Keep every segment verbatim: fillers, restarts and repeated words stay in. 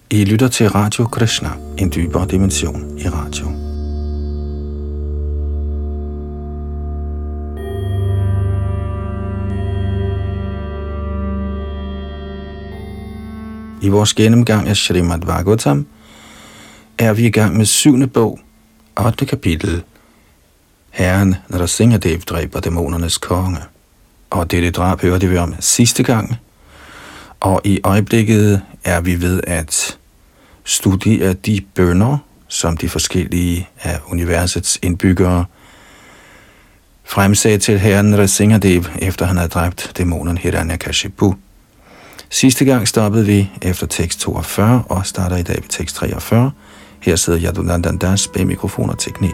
I lytter til Radio Krishna, en dybere dimension i radio. I vores gennemgang af Srimad Bhagavatam er vi i gang med syvende bog, ottende kapitel. Herren Narasimhadev dræber dæmonernes konge. Og dette drab hørte vi om sidste gang. Og i øjeblikket er vi ved at studere de bønner, som de forskellige af universets indbyggere fremsagde til herren Narasimhadev, efter han havde dræbt dæmonen Hiranyakashipu. Sidste gang stoppede vi efter tekst toogfyrre og starter i dag ved tekst treogfyrre. Her sidder Yadunandan Das bag mikrofon og teknik.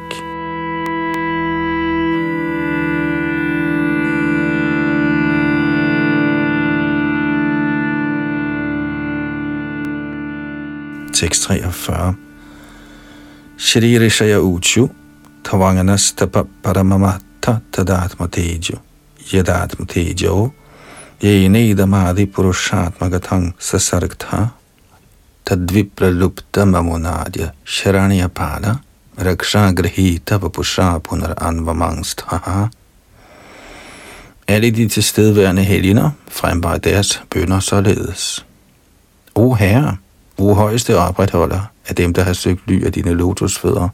Tekst treogfyrre. Shri Rishaya Uchu Tavanganas Tapa Paramamata Tadatma Tejo Yadatma Tejo Yenedamadi Purushatmagatang Sasargtha Tadvipra Lupta Mamonadya Sharanya Pada Raksha Grahita Vapusha Punar Anvamangsthaha. Alle de tilstedeværende helgener frembar deres bønner således. O Herre, o højeste opretholder af dem, der har søgt ly af dine lotusfødder.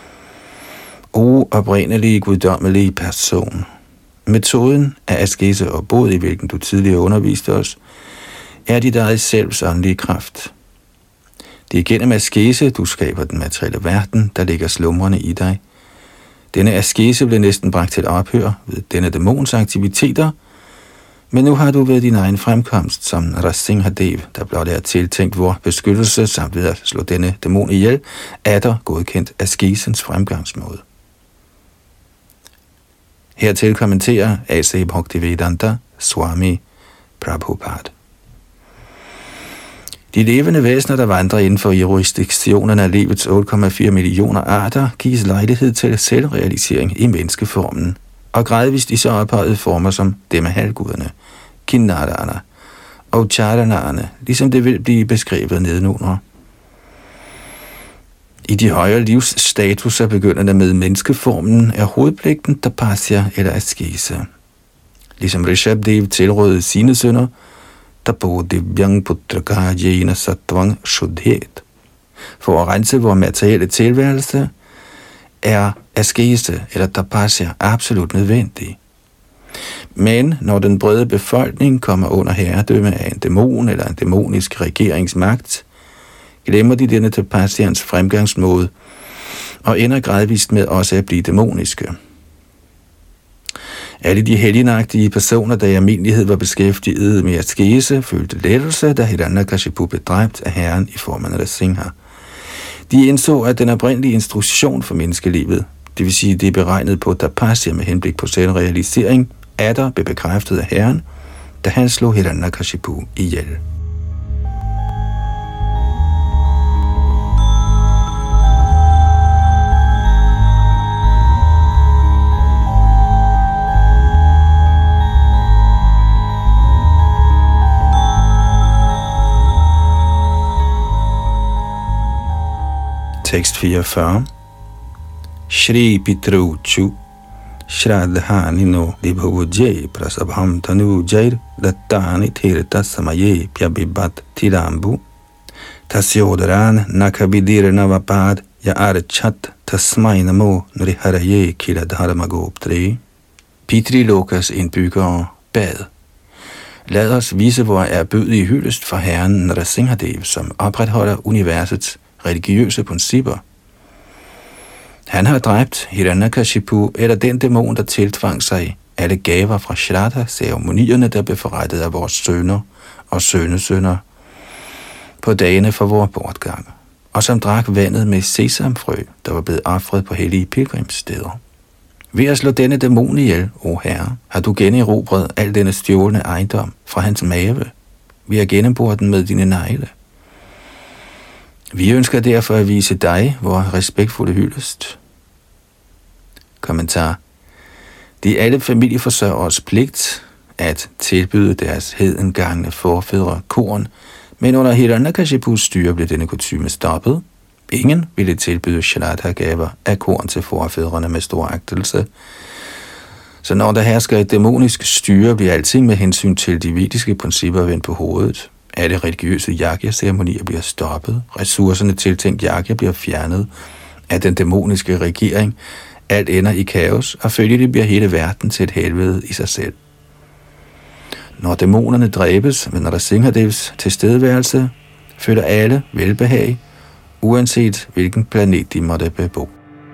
O oprindelige guddommelige person. Metoden af askese og bod, i hvilken du tidligere underviste os, er dit eget selvs åndelige kraft. Det er gennem askese, du skaber den materielle verden, der ligger slumrende i dig. Denne askese blev næsten bragt til ophør ved denne dæmons aktiviteter, men nu har du ved din egen fremkomst som Narasimhadev, der blot er tiltænkt vor beskyttelse, samt ved at slå denne dæmon ihjel, er der godkendt askesens fremgangsmåde. Hertil kommenterer A C Bhaktivedanta Swami Prabhupada. De levende væsener, der vandrer inden for jurisdiktionen af livets otte komma fire millioner arter, gives lejlighed til selvrealisering i menneskeformen, og gradvist i så ophøjede former som dem af halvguderne, Kinnarana og Charanane, ligesom det vil blive beskrevet nedenunder. I de højere livsstatuser begyndende med menneskeformen er hovedpligten tapasya eller askese. Ligesom Rishabdev tilrådede sine sønner, tapo divyang putraka jena sattvang shuddhet. For at rense vores materielle tilværelse er askese eller tapasya absolut nødvendig. Men når den brede befolkning kommer under herredømme af en dæmon eller en dæmonisk regeringsmagt, glemmer de denne tapasyans fremgangsmåde og ender gradvist med også at blive dæmoniske. Alle de helgenagtige personer, der i almindelighed var beskæftiget med askese, følte lettelse, da Hiranyakashipu blev dræbt af herren i form af Narasimha. De indså, at den oprindelige instruktion for menneskelivet, det vil sige det er beregnet på tapasya med henblik på selvrealisering, er der blev bekræftet af herren, da han slog Hiranyakashipu ihjel. Tekst fireogfyrre. Shri Pitruchu Shraddhani no Dibhuvujay Prasabham Tanu Jair Dattani Tirta Samaye Pyabibat Tirambu Tasyodaran Nakabidir Navapad Ya Archat Tasmai Namo Nriharaye Kiladharmagoptre. Pitri Lokas indbyggere bad. Lad os vise vor ærbødige hyldest for herren Narasimhadev, som opretholder universets religiøse principper. Han har dræbt Hiranyakashipu, eller den dæmon, der tiltvang sig alle gaver fra Shraddha-ceremonierne, der blev forrettet af vores sønner og sønnesønner på dagene for vores bortgang, og som drak vandet med sesamfrø, der var blevet ofret på hellige pilgrimssteder. Ved at slå denne dæmon ihjel, o herre, har du generobret al denne stjålne ejendom fra hans mave. Vi har gennemboret den med dine negle. Vi ønsker derfor at vise dig vor respektfulde hyldest. Kommentar. Det er alle familieforsørgers pligt at tilbyde deres hedengangne forfædre korn, Men under Hiranyakashipus styre blev denne kutyme stoppet. Ingen ville tilbyde Shraddha-gaver af korn til forfædrene med stor agtelse. Så når der hersker et dæmonisk styre, bliver alting med hensyn til de vediske principper vendt på hovedet. Alle religiøse yagya-ceremonier bliver stoppet, ressourcerne tiltænkt yagya bliver fjernet af den dæmoniske regering, alt ender i kaos, og følgelig bliver hele verden til et helvede i sig selv. Når dæmonerne dræbes ved Narasimhadevs tilstedeværelse, føler alle velbehag, uanset hvilken planet de måtte bebo.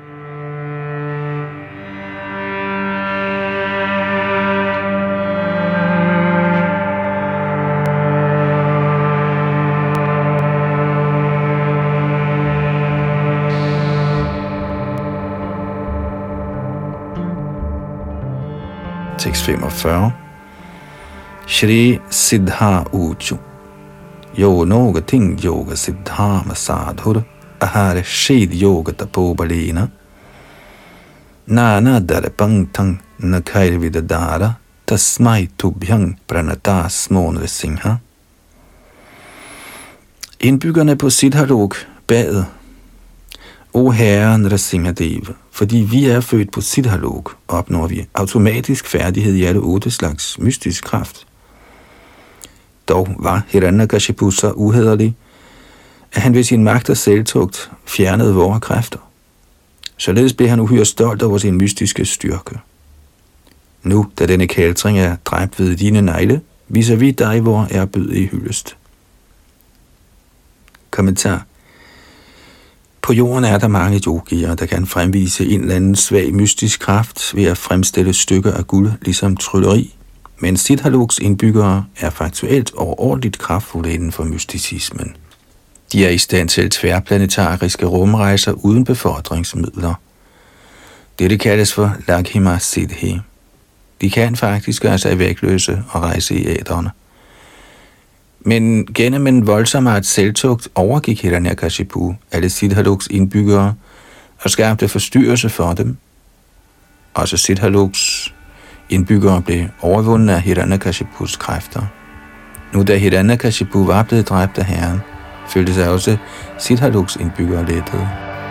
Tekst femogfyrre. Shri Siddha Uchu Yonoga Ting Yoga Siddha Masadhur Ahare Shid Yoga Tapobalena Nana Darapang Tang Nakair Vidadara Tasmai Tubhyang Pranata Smon Singha. Indbyggerne på Siddhalok bad: O Herre Nrsimhadev, fordi vi er født på Siddhalok, opnår vi automatisk færdighed i alle otte slags mystisk kraft. Dog var Hiranyakashipu så uhæderlig, at han ved sin magt og selvtugt fjernede vores kræfter. Således blev han uhyre stolt over sin mystiske styrke. Nu, da denne kæltring er dræbt ved dine negle, viser vi dig vor ærbødige hyldest. Kommentar. På jorden er der mange yogier, der kan fremvise en eller anden svag mystisk kraft ved at fremstille stykker af guld, ligesom trylleri, men Siddhaloks indbyggere er faktuelt overordentligt kraftfulde inden for mysticismen. De er i stand til tværplanetariske rumrejser uden befordringsmidler. Dette kaldes for Laghima Siddhi. De kan faktisk gøre sig vægtløse og rejse i æterne. Men gennem en voldsom art selvtugt overgik Hiranyakashipu alle Siddhaloks indbyggere og skabte forstyrrelse for dem. Også Siddhaloks indbyggere blev overvundet af Hiranyakashipus kræfter. Nu da Hiranyakashipu var blevet dræbt af Herren, følte sig også Siddhaloks indbyggere lettede.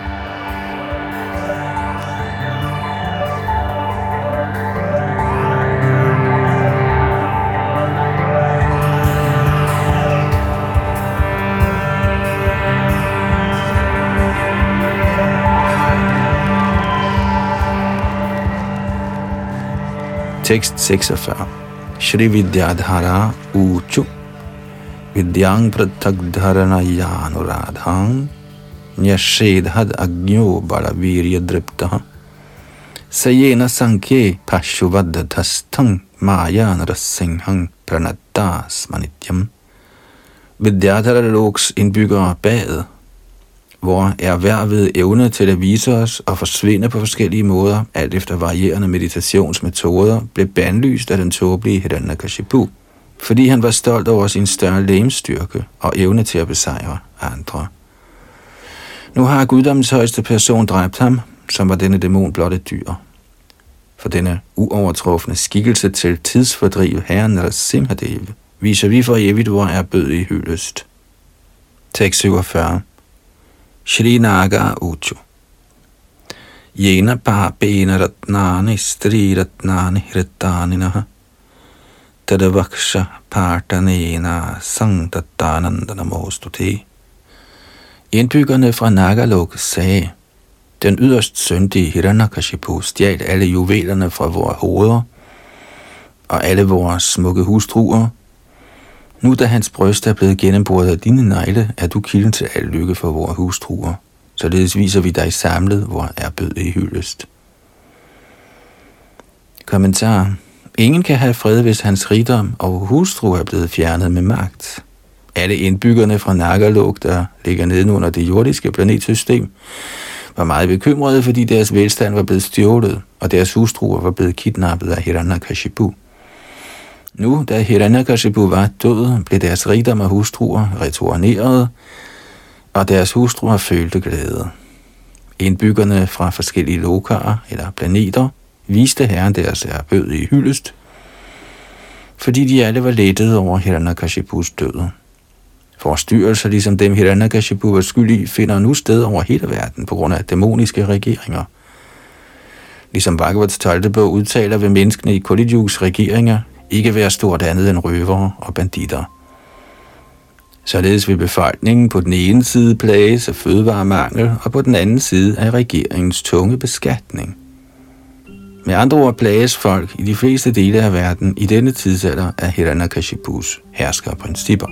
Tekst seksogfyrre. Shri Vidyadhara Uchu Vidyang Pratagdharanayyanuradhang Nyashedhad Agyo Balavirya Driptaha Sayena Sankye Pashuvaddatastang Mayan Rasinghang Pranatas Manityam. Vidyadhara Loks indbyggere bad, hvor erhvervet evne til at vise os og forsvinde på forskellige måder, alt efter varierende meditationsmetoder, blev bandlyst af den tåbelige Hiranyakashipu, fordi han var stolt over sin større legemsstyrke og evne til at besejre andre. Nu har guddommens højeste person dræbt ham, som var denne dæmon blot et dyr. For denne uovertrufne skikkelse til tidsfordriv Herren Narasimhadev viser vi for evigt vor ærbødige hyldest. Tekst syvogfyrre. Shri Naga Uchu Jena Papena Ratnani Stri Ratnani Hritaninaha Tadavaksha Partanena Sangtatanandana Mostute. Indbyggerne fra Nagalok sagde: Den yderst syndige Hiranyakashipu stjal alle juvelerne fra vores hoveder og alle vores smukke hustruer. Nu da hans bryst er blevet gennemboret af dine negle, er du kilden til al lykke for vores hustruer. Således viser vi dig samlet, hvor ærbødige hyldest. Kommentar. Ingen kan have fred, hvis hans rigdom og hustru er blevet fjernet med magt. Alle indbyggerne fra Nagalok, der ligger nedenunder det jordiske planetsystem, var meget bekymrede, fordi deres velstand var blevet stjålet, og deres hustruer var blevet kidnappet af Hiranyakashipu. Nu, da Hiranyakashipu var død, blev deres rigdom og hustruer returneret, og deres hustruer følte glæde. Indbyggerne fra forskellige lokaer eller planeter viste Herren deres ærbødige hyldest, fordi de alle var lettede over Hiranyakashipus død. Forstyrrelser, ligesom dem Hiranyakashipu var skyldig, finder nu sted over hele verden på grund af dæmoniske regeringer. Ligesom Bhagavats tolvte bog udtaler, vil menneskene i Kali Yugas regeringer ikke være stort andet end røvere og banditter. Således vil befolkningen på den ene side plages af fødevaremangel, og på den anden side af regeringens tunge beskatning. Med andre ord plages folk i de fleste dele af verden i denne tidsalder af Hiranyakashipus herskerprincipper.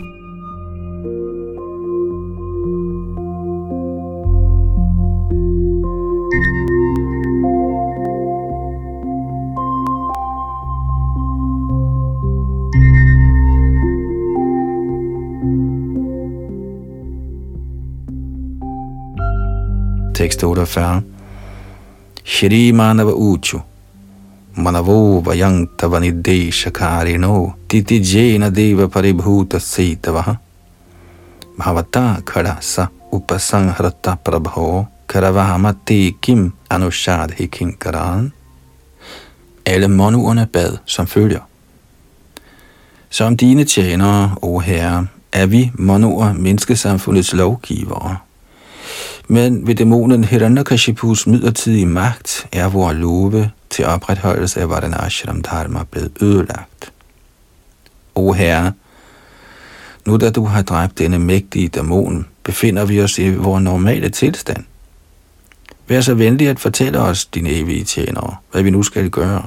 Tekst otteogfyrre. Shri Manava Uchu Manavo Vayang Tavanidesha Karino Titijena Deva Paribhuta Setavaha Bhavata Karasa Upasanghrata Prabho Karavamati Kim Anushadhi Kinkaran. Alle monuerne bad som følger. Som dine tjenere, o Herre, er vi monuer menneskesamfundets lovgivere. Men ved dæmonen Hiranyakashipus midlertidige magt er vores love til opretholdelse af Varnashram Dharma blevet ødelagt. O Herre, nu da du har dræbt denne mægtige dæmon, befinder vi os i vores normale tilstand. Vær så venlig at fortælle os, dine evige tjenere, hvad vi nu skal gøre.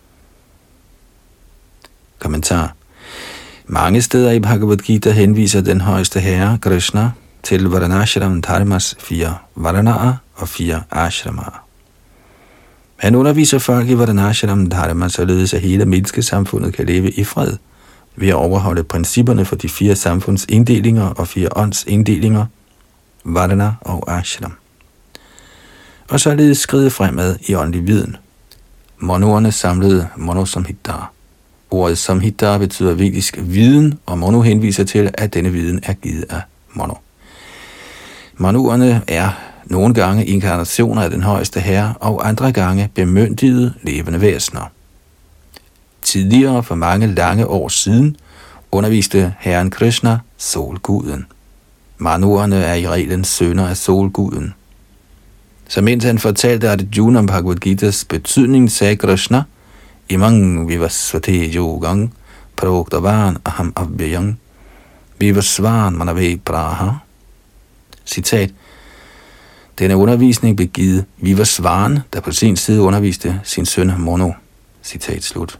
Kommentar. Mange steder i Bhagavad Gita henviser den højeste herre, Krishna, til Varnashram Dharmas fire varanaer og fire ashramaer. Han underviser folk i Varnashram Dharma, således at hele menneskesamfundet kan leve i fred, ved at overholde principperne for de fire samfunds inddelinger og fire ånds inddelinger, varana og ashram. Og således skride fremad i åndelig viden. Monoerne samlede monosamhita. Ordet samhita betyder vedisk viden, og mono henviser til, at denne viden er givet af mono. Manuerne er nogle gange inkarnationer af den højeste herre, og andre gange bemyndigede levende væsener. Tidligere, for mange lange år siden, underviste herren Krishna solguden. Manuerne er i reglen sønner af solguden. Så mens han fortalte Arjuna om Bhagavad Gitas betydning, sagde Krishna, Imang vivasvate yogang, progtavan aham abhyang, vivasvan manave praha. Citat. Denne undervisning blev givet Vivasvan, der på sin side underviste sin søn Mono. Citat slut.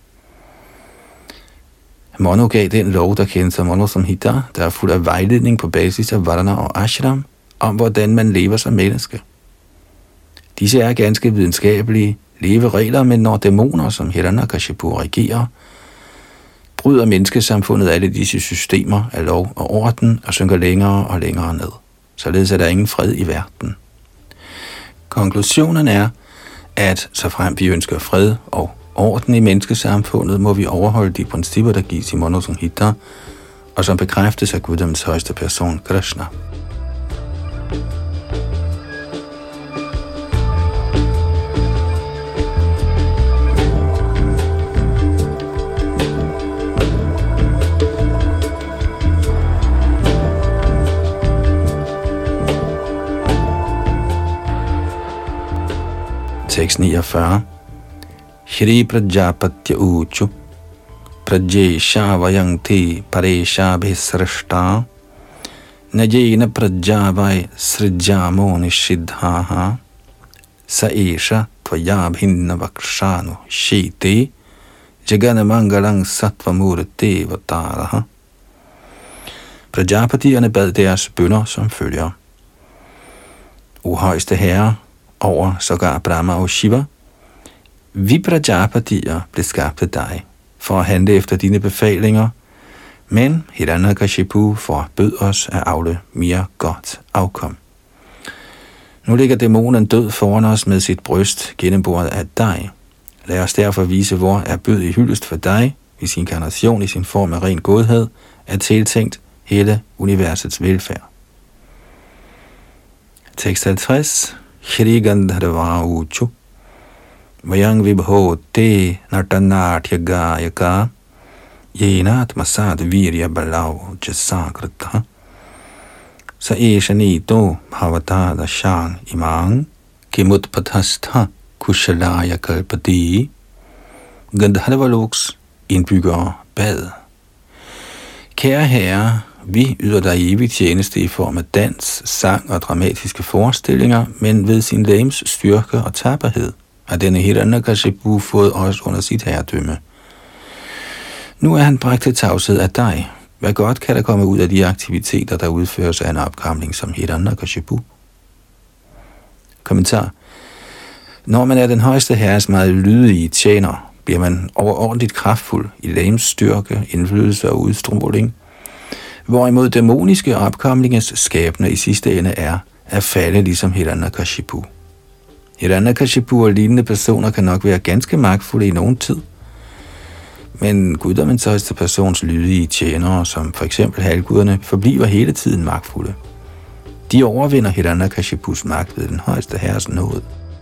Mono gav den lov, der kendes som Monosamhita, der er fuld af vejledning på basis af Varana og Ashram, om hvordan man lever som menneske. Disse er ganske videnskabelige leveregler, men når dæmoner som Hiranyakashipu regerer, bryder menneskesamfundet alle disse systemer af lov og orden og synker længere og længere ned. Således er der ingen fred i verden. Konklusionen er, at såfremt vi ønsker fred og orden i menneskesamfundet, må vi overholde de principper, der gives i Monosamhita, og som bekræftes af Guddoms højeste person, Krishna. Tekst niogfyrre. Shri Prajapatya Uchu Prajesha Vayangti Paresha Bhisrashta Najena Prajavai Srijamo Nishidhaha Saesha Tvayabhinna Vakshanu Shite Jaganamangalang Satvamurte Vataraha. Prajapatierne bad deres bønner som følger. O højeste herre, over sågar Brahma og Shiva, vi Prajapatier blev skabt af dig, for at handle efter dine befalinger, men Hiranyakashipu forbød os at avle mere godt afkom. Nu ligger dæmonen død foran os med sit bryst gennemboret af dig. Lad os derfor vise, hvor er bød i hyldest for dig, hvis inkarnation i sin form af ren godhed er tiltænkt hele universets velfærd. Tekst halvtreds. Shri Gandharva Uchu Vayang Vibhote Natanatya Gayaka yenat masad virya balav jasakrita sa eshanito bhavatada shang imang kimut patastha kushalaya kalpati. Gandharvaloks indbyggere bad: Kære herre, vi yder dig evig tjeneste i form af dans, sang og dramatiske forestillinger, men ved sin legems styrke og tapperhed har denne Hiranyakashipu fået os under sit herredømme. Nu er han bragt til tavshed af dig. Hvad godt kan der komme ud af de aktiviteter, der udføres af en opgamling som Hiranyakashipu? Kommentar. Når man er den højeste herres meget lydige tjener, bliver man overordentligt kraftfuld i legems styrke, indflydelse og udstråling, hvorimod dæmoniske opkomlingens skæbne i sidste ende er at falde ligesom Hiranyakashipu. Hiranyakashipu og lignende personer kan nok være ganske magtfulde i nogen tid, men guddommens højeste persons lydige tjenere, som for eksempel halvguderne, forbliver hele tiden magtfulde. De overvinder Hiranyakashipus magt ved den højeste herres nåde.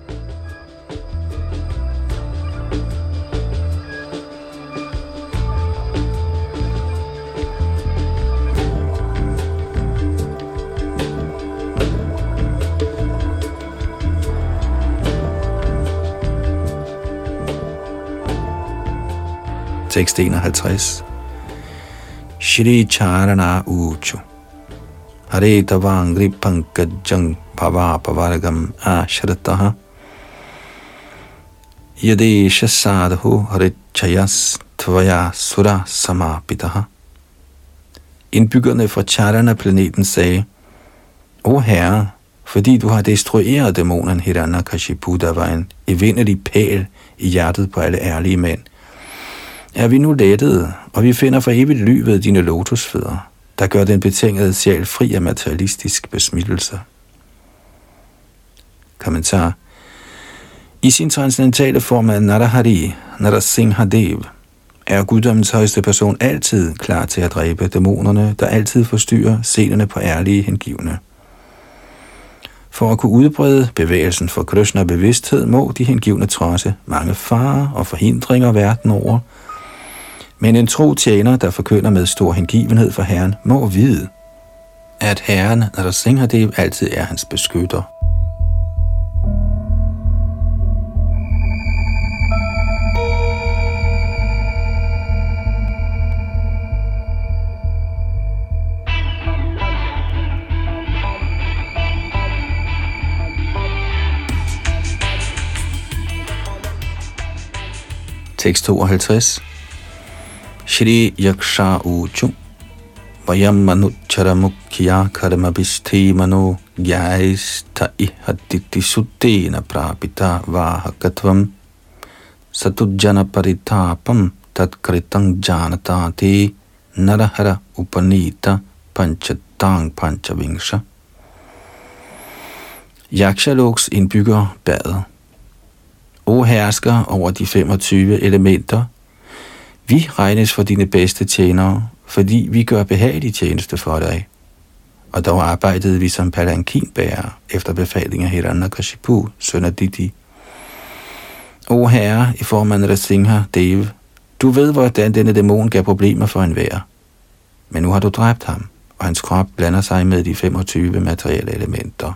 Tekst enoghalvtreds. Shri Charana Uchu Hare Tavangri Pankajang Bhava Pavargam Ashrataha Yadesha Sadhu Harichayas Tvaya Sura Samapitaha. Indbyggerne fra Charana-planeten sagde: O herre, fordi du har destrueret dæmonen Hiranyakashipu, der var en evindelig pæl i hjertet på alle ærlige mænd, er vi nu lettede, og vi finder for evigt ly ved dine lotusfødder, der gør den betingede sjæl fri af materialistisk besmittelse. Kommentar. I sin transcendentale form af Narahari, Narasimhadev, er guddommens højeste person altid klar til at dræbe dæmonerne, der altid forstyrrer scenerne på ærlige hengivne. For at kunne udbrede bevægelsen for Krishna bevidsthed, må de hengivne trodse mange farer og forhindringer verden over, men en tro tjener, der forkynder med stor hengivenhed for Herren, må vide, at Herren, Narasimhadev, altid er hans beskytter. Tekst tooghalvtreds. Shri Yaksha Uchu Vayam Manuchara Mukhya Karma Bhisthi Mano Gyaista Ihaditi Suddena Prapita Vahakatvam Satujjana Paritapam Tatkritang Janatati Narahara Upanita Panchatang Panchavingsha. Yakshaloks indbyggere bad: O hersker over de femogtyve elementer, vi regnes for dine bedste tjenere, fordi vi gør behagelig tjeneste for dig. Og dog arbejdede vi som palankinbærere efter befaling af Hiranyakashipu, søn af Didi. O herre, i form af Nrsimha Dev, du ved, hvordan denne dæmon gav problemer for enhver. Men nu har du dræbt ham, og hans krop blander sig med de femogtyve materielle elementer.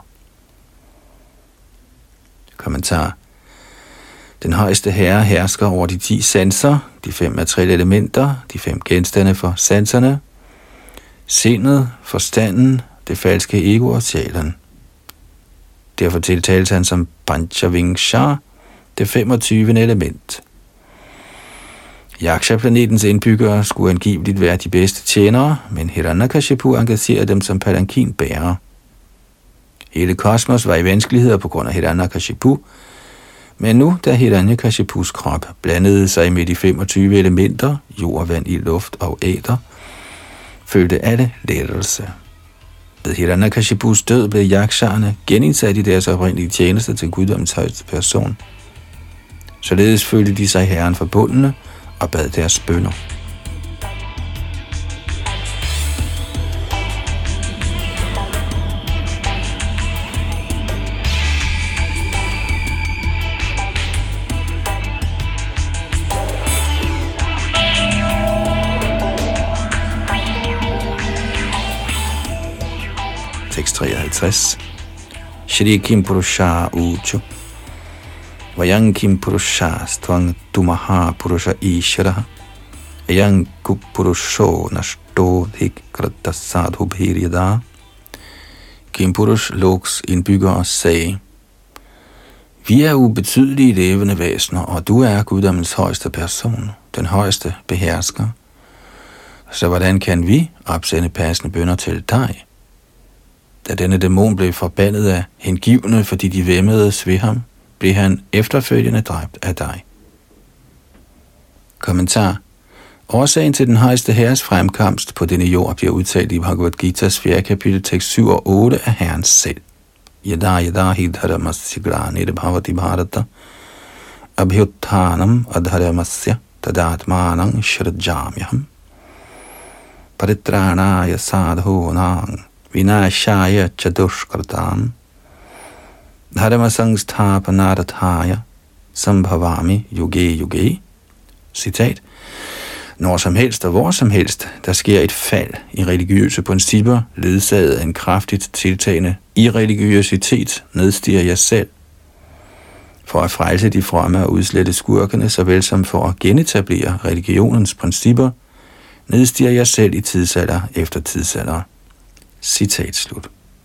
Kommentar. Den højeste herre hersker over de ti sanser, de fem materielle elementer, de fem genstande for sanserne, sindet, forstanden, det falske ego og sjælen. Derfor tiltales han som Panchavingsha, det femogtyvende element. Yaksha-planetens indbyggere skulle angiveligt være de bedste tjenere, men Hiranyakashipu engagerede dem som palankinbærere. Hele kosmos var i vanskeligheder på grund af Hiranyakashipu, men nu, da Hiranyakashipus krop blandede sig med de femogtyve elementer, jord, vand, ild, luft og æter, følte alle lettelse. Ved Hiranyakashipus død blev yaksharerne genindsat i deres oprindelige tjeneste til guddommens højeste person. Således følte de sig herren forbundne og bad deres bønner. halvtreds. Shri Kim Purusha Uchu Vayang Kim Purusha Stvang Tumaha Purusha Ishara Ayang Kupurusho Nashto Hik Krata Sadhu Bhiryada. Kim Purush Loks indbyggere sagde: Vi er ubetydelige levende væsener, og du er guddommens højeste person, den højeste behersker. Så hvordan kan vi opsende passende bønner til dig? Da denne dæmon blev forbandet af hengivne, fordi de væmmedes ved ham, blev han efterfølgende dræbt af dig. Kommentar. Årsagen til den højeste herres fremkomst på denne jord bliver udtalt i Bhagavad Gita's fjerde kapitel, tekst syv og otte af Herren selv. Yada yada hi dharmasya glanir bhavati bharata abhyutthanam adharamasya tadatmanam shrajamyaham paritranaya sadhunam vinashaya chadushkratam dharmasangsthapanarathaya sambhavami yuge yuge. Citat. Når som helst og hvor som helst, der sker et fald i religiøse principper, ledsaget af en kraftigt tiltagende irreligiøsitet, nedstiger jeg selv. For at frelse de fromme og udslette skurkene, såvel som for at genetablere religionens principper, nedstiger jeg selv i tidsalder efter tidsalder. Citat slut.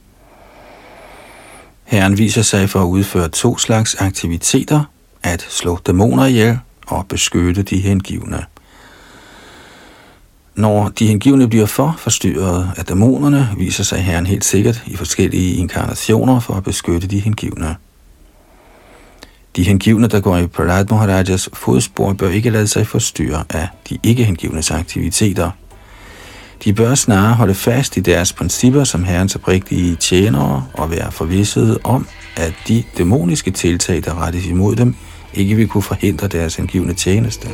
Herren viser sig for at udføre to slags aktiviteter, at slå dæmoner ihjel og beskytte de hengivne. Når de hengivne bliver for forstyrret af dæmonerne, viser sig Herren helt sikkert i forskellige inkarnationer for at beskytte de hengivne. De hengivne, der går i Prahlad Maharajas fodspor, bør ikke lade sig forstyrre af de ikke-hengivnes aktiviteter. De bør snarere holde fast i deres principper som Herrens oprigtige tjenere og være forvisset om, at de dæmoniske tiltag, der rettes imod dem, ikke vil kunne forhindre deres hengivne tjeneste.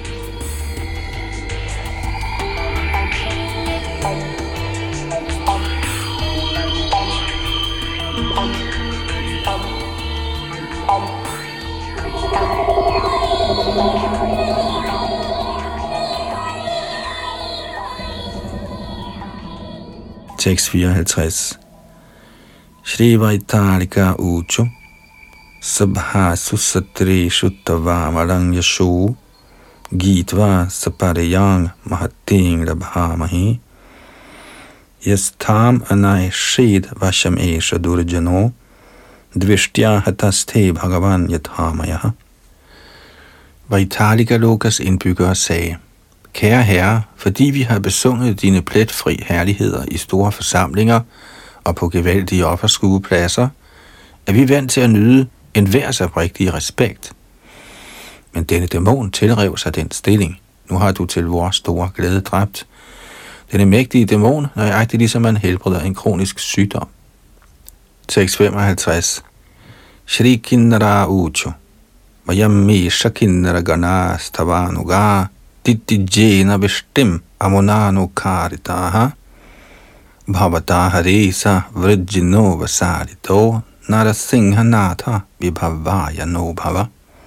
Tekst fireoghalvtreds. Shri Vaitarika Uchu Sabha Susatri Shuttava Malang Yashu Gitva Sapariyang Mahating Labhamahi Yastam Anai Shid Vasham Esha Durjano Dvishtya Hataste Bhagavan Yathamaya. Vaitarika Lokas indbyggere sagde: Kære herre, fordi vi har besunget dine pletfri herligheder i store forsamlinger og på gevaldige offerskuepladser, er vi vant til at nyde enhvers oprigtige respekt. Men denne dæmon tilrev sig den stilling. Nu har du til vores store glæde dræbt denne mægtige dæmon, nøjagtigt ligesom man helbreder en kronisk sygdom. Tekst femoghalvtreds. Shri Kinnara Uchu Vayammi Shakinnara Gana Stavanuga Titijena Vishtim Amonano Karitaha Bhavatarisa Vrijino Vasarito Narasinghanatha Vibhavaya Nobhava.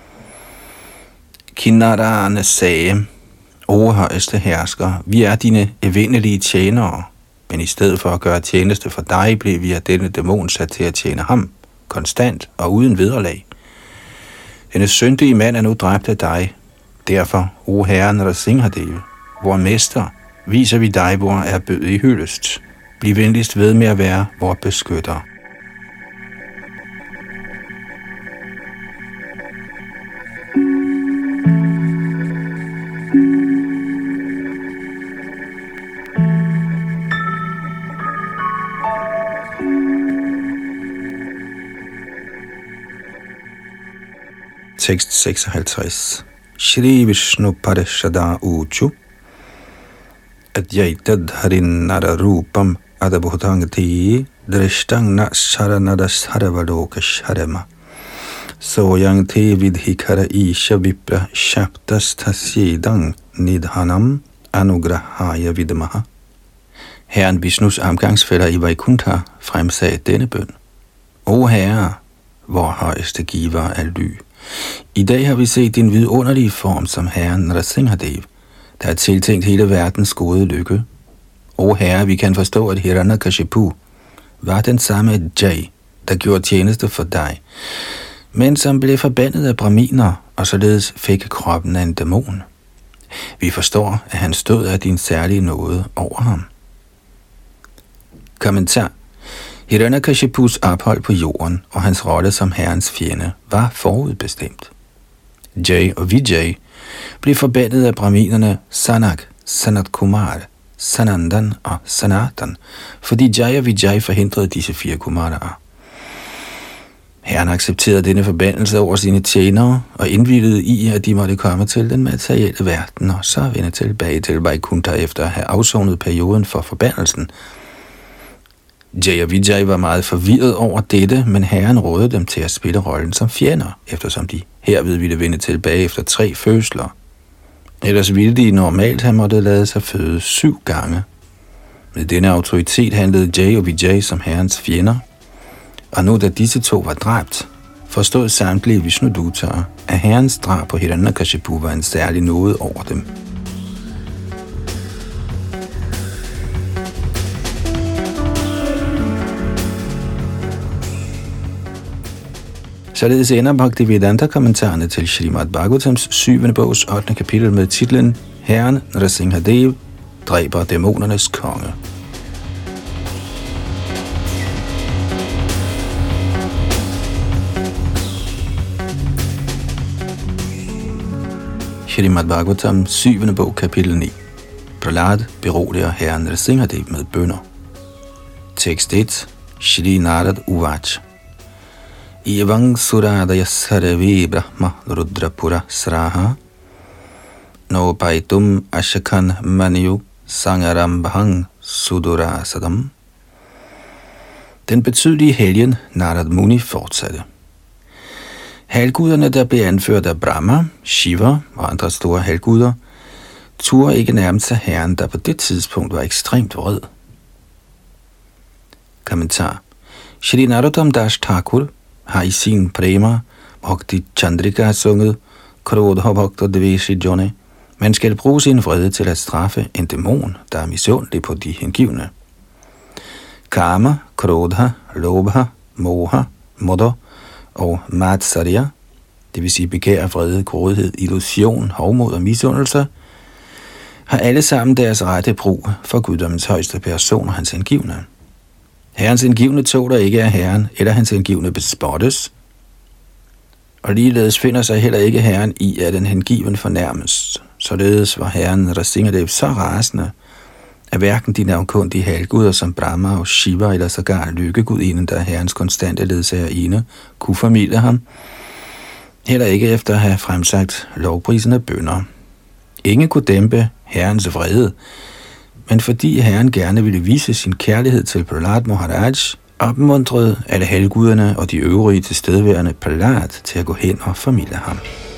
Kinnarane sagde: O højeste hersker, vi er dine evindelige tjenere, men i stedet for at gøre tjeneste for dig, blev vi af denne dæmon sat til at tjene ham, konstant og uden vederlag. Denne syndige mand er nu dræbt af dig. Derfor, o herre Narasimhadev, vor mester, viser vi dig, hvor er bød i hyldest. Bliv venligst ved med at være vor beskytter. Tekst seksoghalvtreds. Shri Vishnu Parishada Uchu Adyaitad Harinnara Rupam Adabhutangati Drishtang Na Sharanada Sarvaloka Sharama Soyang Te Vidhikara Isha Vipra Shaptastasjedang Nidhanam Anugrahaya Vidmaha. Herren Vishnus omgangsfæller i Vaikuntha fremsagde denne bøn: O herre, vor højeste giver af ly, i dag har vi set din vidunderlige form som herren Narasimhadev, der er tiltænkt hele verdens gode lykke. O herre, vi kan forstå, at Hiranyakashipu var den samme Jay, der gjorde tjeneste for dig, men som blev forbandet af braminer og således fik kroppen af en dæmon. Vi forstår, at han stod af din særlige nåde over ham. Kommentar. Hiranyakashipus ophold på jorden og hans rolle som herrens fjende var forudbestemt. Jay og Vijay blev forbandet af braminerne Sanak, Sanat Kumar, Sanandan og Sanatan, fordi Jay og Vijay forhindrede disse fire kumarer. Herren accepterede denne forbandelse over sine tjenere og indvilligede i, at de måtte komme til den materielle verden og så vende tilbage til Vaikuntha efter at have afsonet perioden for forbandelsen. Jay og Vijay var meget forvirret over dette, men herren rådede dem til at spille rollen som fjender, eftersom de herved ville vende tilbage efter tre fødsler. Ellers ville de normalt have måttet lade sig føde syv gange. Med denne autoritet handlede Jay og Vijay som herrens fjender, og nu da disse to var dræbt, forstod samtlige Vishnudutaer, at herrens drab på Hiranyakashipu var en særlig nåde over dem. Således ender Bhaktivedanta-kommentarerne til Srimad Bhagavatams syvende bogs ottende kapitel med titlen Herren Nrsimhadev dræber dæmonernes konge. Srimad Bhagavatam syvende bog kapitel ni. Prahlad beroliger herren Nrsimhadev med bønner. Tekst et. Shri Narad Uvach. Evang suradaya sarve brahma rudrapura sraha no paitum ashakan maniyu sangarambhang sudurasadam. Den betydelige helgen Narad Muni fortsatte. Halvguderne, der blev anført af Brahma, Shiva og andre store halvguder, turde ikke nærme sig herren, der på det tidspunkt var ekstremt vred. Kommentar. Shri Narottam Das Thakur har i sin Prema Bhakti Chandrika sunget Krodha Bhakta Dveshi Jone. Man skal bruge sin vrede til at straffe en dæmon, der er misundelig på de hengivne. Kama, Krodha, Lobha, Moha, Moda og Matsarya, det vil sige begær, vrede, grådighed, illusion, hovmod og misundelse, har alle sammen deres rette brug for guddommens højeste person og hans hengivne. Herrens hengivne tåler ikke af herren, eller hans hengivne bespottes, og ligeledes finder sig heller ikke herren i, at den hengiven fornærmes. Således var herren Nrsimhadev så rasende, at hverken de navnkundige halvguder som Brahma og Shiva eller sågar lykkegudinden, der er herrens konstante ledsagerinde, kunne formidle ham, heller ikke efter at have fremsagt lovprisende bønner. Ingen kunne dæmpe herrens vrede, men fordi herren gerne ville vise sin kærlighed til Prahlad Maharaj, opmuntrede alle halvguderne og de øvrige tilstedeværende Prahlad til at gå hen og formidle ham.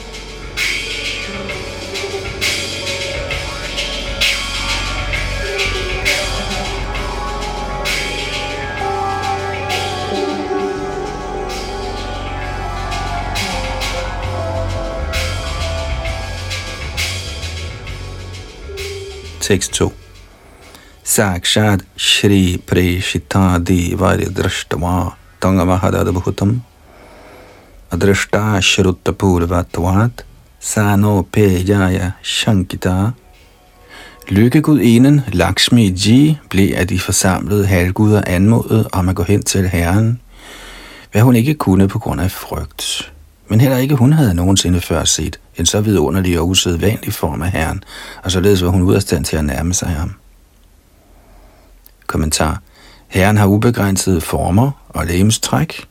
Tekst to. Sakshat Shri Preshita Devari Drashtava Tangamahadadabhutam Adrashta Shruttapurvatvat Sano Pejaya Shankita. Lykkegudinden Lakshmi Ji blev af de forsamlede halvguder anmodet om at gå hen til herren, hvad hun ikke kunne på grund af frygt. Men heller ikke hun havde nogensinde før set en så vidunderlig og usædvanlig form af herren, og således var hun ude af stand til at nærme sig ham. Kommentar. Herren har ubegrænsede former og legemstræk.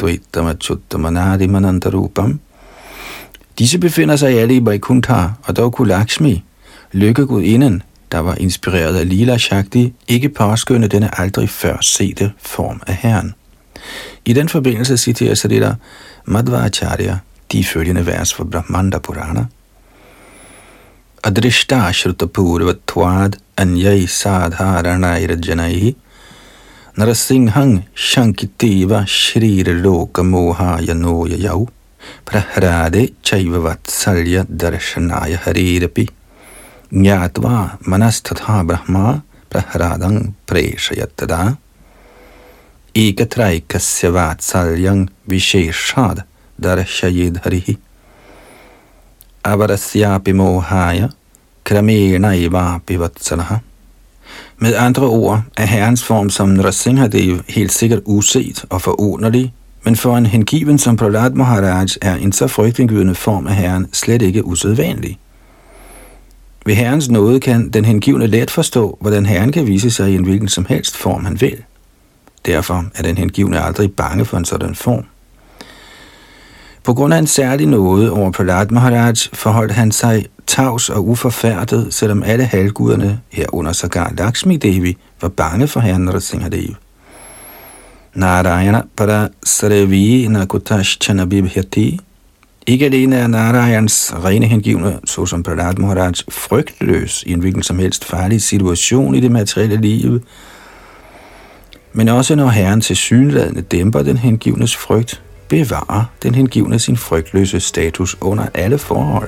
Disse befinder sig alle i Vaikuntha, og dog kunne Lakshmi, lykkegudinden, der var inspireret af Lila Shakti, ikke påskynde denne aldrig før sete form af herren. I den forbindelse citerer Srila Madhvacharya de følgende vers fra Brahmanda Purana. Adrishta Shrutapurvatvad Anyai Sadharanayrajanai Narasinghang Shankiteva Shrir Loka Mohaya Noyayau Prahrade Chaivavatsalya Darshanaya Harirapi Nyatva Manastatha Brahma Prahradang Preshayatada. Ekatraikasya vatsalyang visheshad darshayed harihi avarasyapi mohaya kramena ivapi vatsalaha. Med andre ord er herrens form som Nrsimhadev helt sikkert uset og forunderlig, men for en hengiven som Prahlad Maharaj er en så frygtindgydende form af herren slet ikke usædvanlig. Ved herrens nåde kan den hengivne let forstå, hvordan herren kan vise sig i en hvilken som helst form han vil. Derfor er den hengivne aldrig bange for en sådan form. På grund af en særlig nåde over Prahlad Maharaj forholdt han sig tavs og uforfærdet, selvom alle halvguderne, herunder sågar Lakshmi Devi, var bange for herren Nrsimhadev. Narayana para sarvi nakutashchana bibhyati. Ikke alene er Narayans rene hengivne, såsom Prahlad Maharaj, frygtløs i en hvilken som helst farlig situation i det materielle liv, men også når herren tilsyneladende dæmper den hengivnes frygt, bevarer den hengivne sin frygtløse status under alle forhold.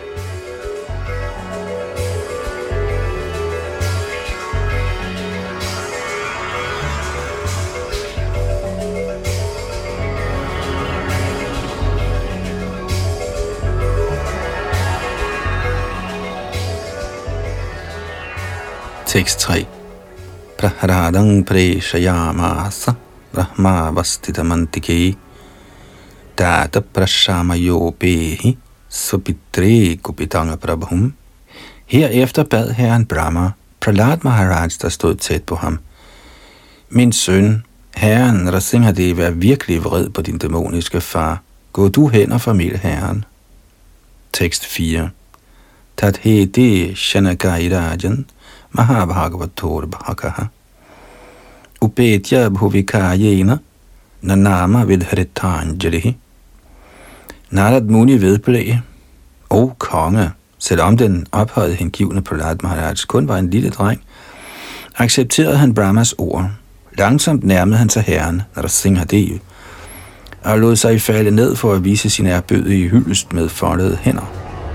Tekst tre. Prahradang preshayamasa brahma vastidamantike data prashamayopehi supitre kupitanga prabhum. Herefter bad herren Brahma, Prahlad Maharaj, der stod tæt på ham: Min søn, herren Nrsimhadev er virkelig vred på din dæmoniske far. Gå du hen og formel herren. Tekst fire. Tathete shanagairajan mahabhagavator bhakaha upetya bhuvikayena nanama vidharitanjalihi. Narad Muni vedblev: O konge, selvom den ophøjede hengivne Prahlad Maharaj kun var en lille dreng, accepterede han Brahmas ord. Langsomt nærmede han sig herren Nrsimhadev og lod sig falde ned for at vise sin ærbødige hyldest med foldede hænder.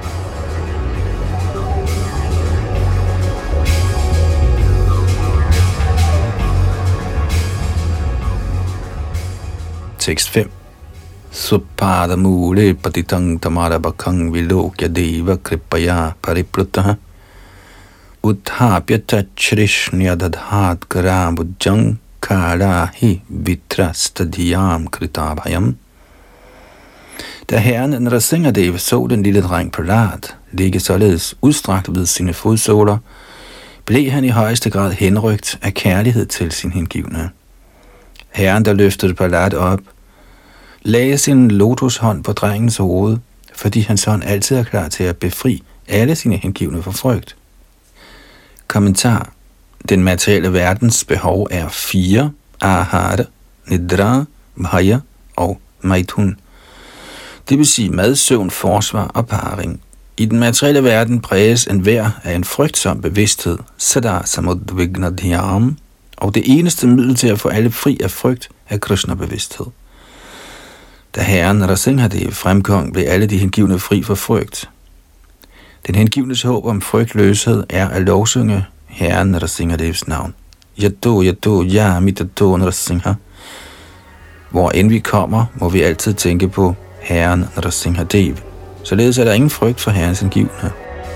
Tekst fem. Supada mule patitang tamara bakang vilokya deva kripaya pariplutaha uthapyata chrishnya dadhat karabujjang karahi vitrastadiyam kritabhayam. Da herren Nrsimhadev så den lille dreng Prahlad ligge således udstrakt ved sine fodsåler, blev han i højeste grad henrygt af kærlighed til sin hengivne. Herren, der løftede Prahlad op, lagde sin lotushånd på drengens hoved, fordi hans hånd altid er klar til at befri alle sine hengivne for frygt. Kommentar. Den materielle verdens behov er fire: ahara, nidra, bhaya og maithun. Det vil sige mad, søvn, forsvar og parring. I den materielle verden præges enhver af en frygtsom bevidsthed, sada samudvignadhyam, og det eneste middel til at få alle fri af frygt er Krishna-bevidsthed. Da herren Nrsimhadev fremkom, blev alle de hengivne fri for frygt. Den hengivnes håb om frygtløshed er at lovsynge herren Nrsimhadevs navn. Yato, yato, ya, mitato, Nrsimha. Hvor end vi kommer, må vi altid tænke på herren Nrsimhadev. Således er der ingen frygt for herrens hengivne.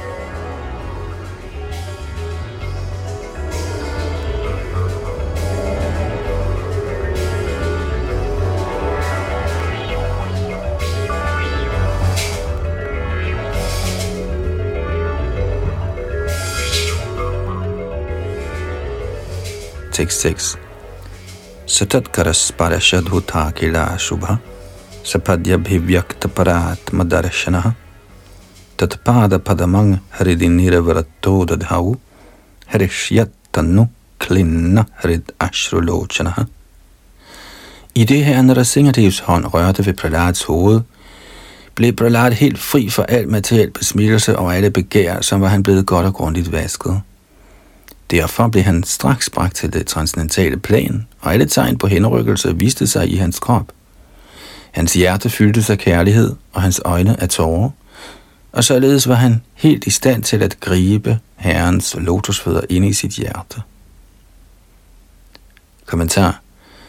Tekst seks. Satat karasparashadhuta kila shubha sapadya bhivyakta paratma darshanaha tatpada padamang haridiniravaratto dadhavu harishyattannu klinna harid ashrulochanaha. I det her Nrsimhadevs hånd rørte ved Prahlads hoved, blev Prahlad helt fri for al materiel besmittelse og alle begær, som var han blevet godt og grundigt vasket. Derfor blev han straks bragt til det transcendentale plan, og alle tegn på henrykkelse viste sig i hans krop. Hans hjerte fyldtes af kærlighed, og hans øjne af tårer, og således var han helt i stand til at gribe herrens lotusfødder inde i sit hjerte. Kommentar.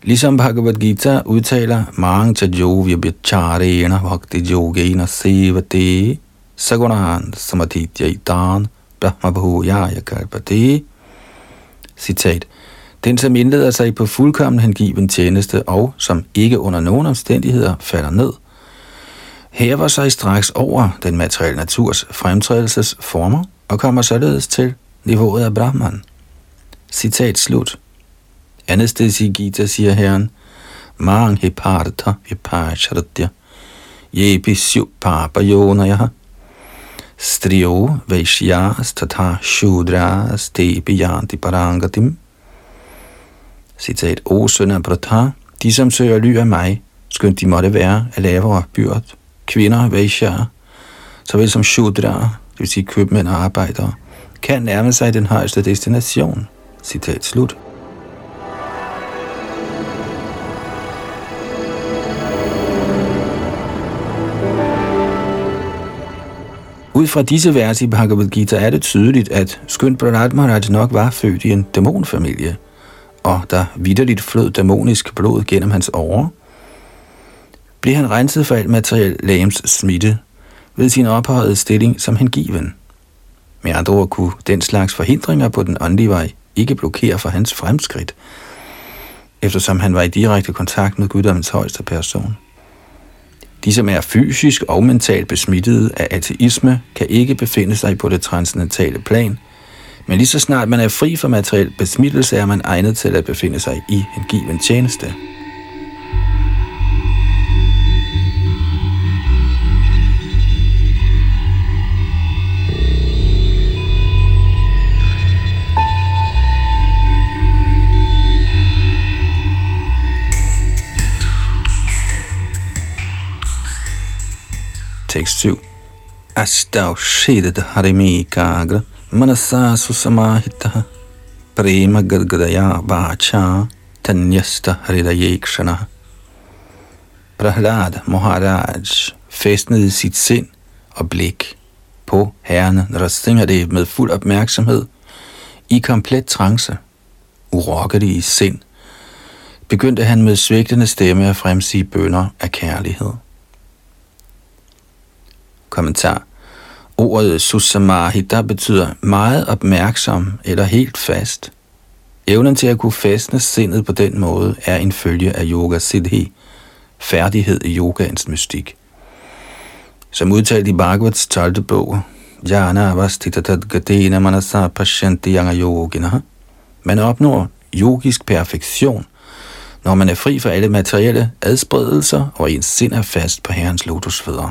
Ligesom Bhagavad Gita udtaler, Mang Chajovya Bhyacharena Bhakti Yogena Sevate Sagunan Samadhityaitan Brahma Bhujaya Kalpate. Citat. Den, som indleder sig på fuldkommen hengiven tjeneste og som ikke under nogen omstændigheder falder ned, hæver sig straks over den materielle naturs fremtrædelsesformer og kommer således til niveauet af Brahman. Citat slut. Anastasi Gita siger Herren, Mang he partha vipasharatya yepi syu papayonayaha striyo vaishyas tatha shudras tepi yanti parangatim. Citat. O søn af Pratha, de som søger ly af mig, skønt de måtte være af lavere byrd, kvinder, vaishyaer, såvel som shudra, det vil sige købmænd og arbejdere, kan nærme sig den højeste destination. Citat slut. Ud fra disse vers i Bhagavad Gita er det tydeligt, at skønt Prahlad Maharaj nok var født i en dæmonfamilie, og der vitterligt flød dæmonisk blod gennem hans årer, blev han renset for alt materiel legems smitte ved sin ophøjede stilling som hengiven. Med andre ord kunne den slags forhindringer på den åndelige vej ikke blokere for hans fremskridt, eftersom han var i direkte kontakt med guddommens højeste person. De, som er fysisk og mentalt besmittede af ateisme, kan ikke befinde sig på det transcendentale plan, men lige så snart man er fri for materiel besmittelse, er man egnet til at befinde sig i hengiven tjeneste. Tekst syv. Astav shedet harimi kagra manasa susamahita prema gadgadaya vacha tanyasta hridayekshana. Prahlad Maharaj fæstnede sit sind og blik på Herren Nrsimhadev med fuld opmærksomhed i komplet trance. Urokkelig i sind begyndte han med svigtende stemme at fremsige bønner af kærlighed. Kommentar. Ordet susamahita betyder meget opmærksom eller helt fast. Evnen til at kunne fæstne sindet på den måde er en følge af yoga siddhi, færdighed i yogaens mystik. Som udtalt i Bhagavats tolvte bog, Jana avasthitatadgatena manasa pashyanti yanga yogina. Man opnår yogisk perfektion, når man er fri for alle materielle adspredelser og ens sind er fast på Herrens lotusfødder.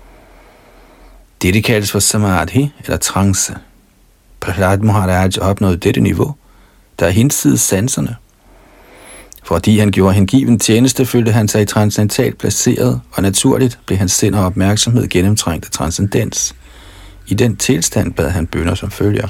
Dette kaldes for samadhi eller trance. Prahlad Maharaj opnåede dette niveau, der er hinsides sanserne. Fordi han gjorde hengiven tjeneste, følte han sig transcendentalt placeret, og naturligt blev hans sind og opmærksomhed gennemtrængt af transcendens. I den tilstand bad han bønner som følger.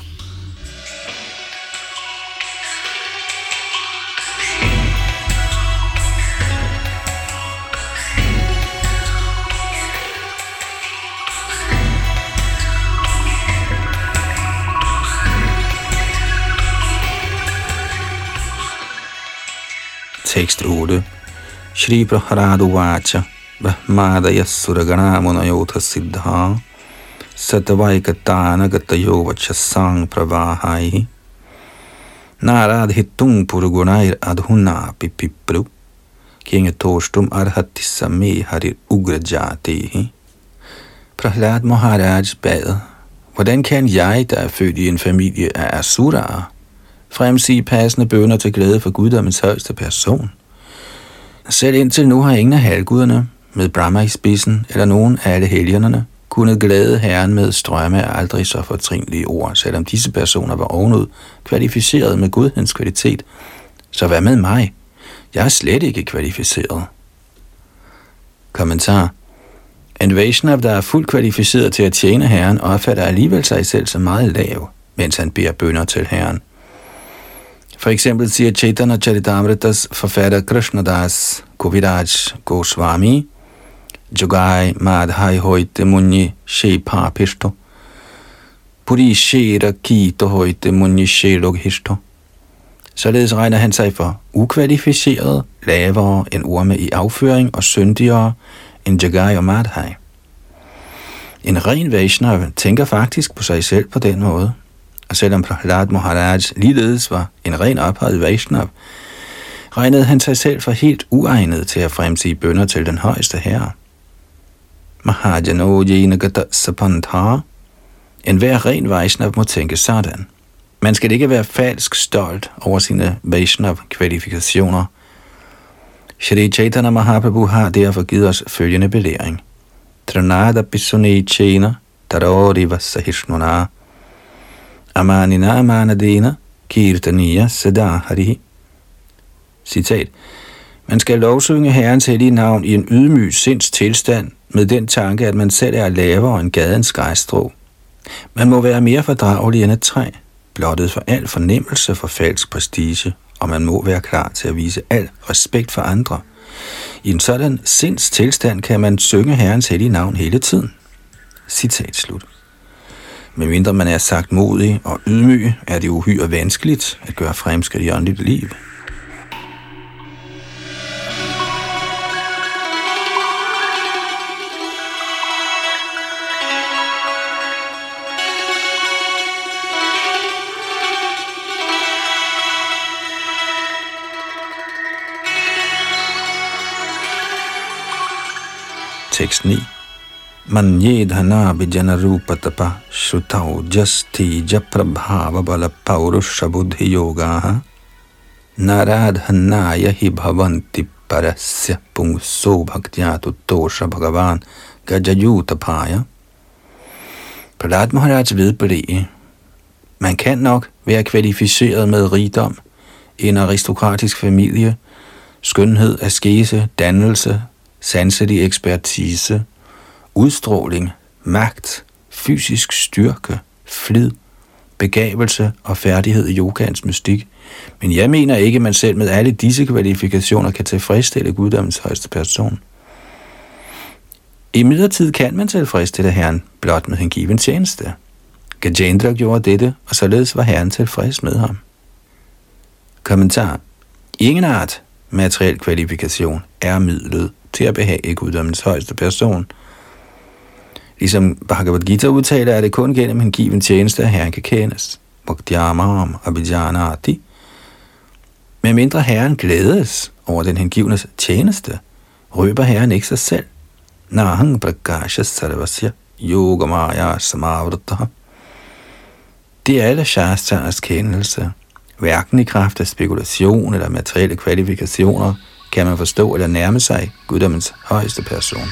Tekst otte. Shri Prahlad Uvacha Brahmadaya Suragana Munayotha Siddha Satavaikatana Gatayo Vachasang Pravahai Naradhitung Purugunair Adhuna Pipipru Kingatostum Arhati Same Harir Ugrajati. Prahlad Maharaj bad: Hvordan kan jeg, der er født i en familie af asuraer, fremsige passende bønner til glæde for guddommens højeste person? Selv indtil nu har ingen af halvguderne, med Brahma i spidsen, eller nogen af alle helgenerne, kunnet glæde Herren med strømme af aldrig så fortrinlige ord, selvom disse personer var ovenud kvalificeret med gudhedens kvalitet. Så hvad med mig? Jeg er slet ikke kvalificeret. Kommentar. En Vaishnav, der er fuldt kvalificeret til at tjene Herren, opfatter alligevel sig selv som meget lav, mens han beder bønner til Herren. For eksempel siger Chaitanya Charitamritas forfatter Krishnadas Kaviraj Goswami: Jogai madhai hoite munyi she papishto puri shera kito hoite munyi she loghishto Således regner han sig for ukvalificeret, lavere end orme i afføring og syndigere end Jagai og Madhai. En ren Vaishnav tænker faktisk på sig selv på den måde, og selvom Prahlad Maharaj ligeledes var en ren ophøjet Vaishnav, regnede han sig selv for helt uegnet til at fremsige bønner til den højeste herre. Mahajano jenagata sapantha. En hver ren Vaishnav må tænke sådan. Man skal ikke være falsk stolt over sine Vaishnav-kvalifikationer. Shri Chaitanya Mahaprabhu har derfor givet os følgende belæring. Tranada pisone chena tarori vasahishnuna amanina amanadena kirtaniya sadahari. Citat. Man skal lovsynge Herrens hellige navn i en ydmyg sinds tilstand med den tanke, at man selv er lavere end gadens græsstrå. Man må være mere fordragelig end et træ, blottet for al fornemmelse for falsk prestige, og man må være klar til at vise al respekt for andre. I en sådan sinds tilstand kan man synge Herrens hellige navn hele tiden. Citat slut. Medmindre man er sagt modig og ydmyg, er det uhyre vanskeligt at gøre fremskridt i åndeligt liv. Tekst ni. Manye dhana bijana rupatapa shrutau jasti japrabhava bala paurusha buddhi yogaha naradhanaya hi bhavanti parasya pungso bhaktyatu tosha bhagavan gajayutapaya. Prahlad Maharaj vedblev. Man kan nok være kvalificeret med rigdom, en aristokratisk familie, skønhed, askese, dannelse, sanselig ekspertise, udstråling, magt, fysisk styrke, flid, begavelse og færdighed i yogaens mystik. Men jeg mener ikke, at man selv med alle disse kvalifikationer kan tilfredsstille guddommens højeste person. Imidlertid kan man tilfredsstille Herren blot med hengiven tjeneste. Gajendra gjorde dette, og således var Herren tilfreds med ham. Kommentar. Ingen art materiel kvalifikation er midlet til at behage guddommens højeste person. Ligesom Bhagavad Gita udtaler, er det kun gennem hengiven tjeneste, at Herren kan kendes. Bhaktyamam abhijanati. Med mindre Herren glædes over den hengivnes tjeneste, røber Herren ikke sig selv. Nahang prakasha sarvasya yogamaya samavrataha. Det er alle shastraers kendelse. Hverken i kraft af spekulation eller materielle kvalifikationer kan man forstå eller nærme sig guddommens højeste person.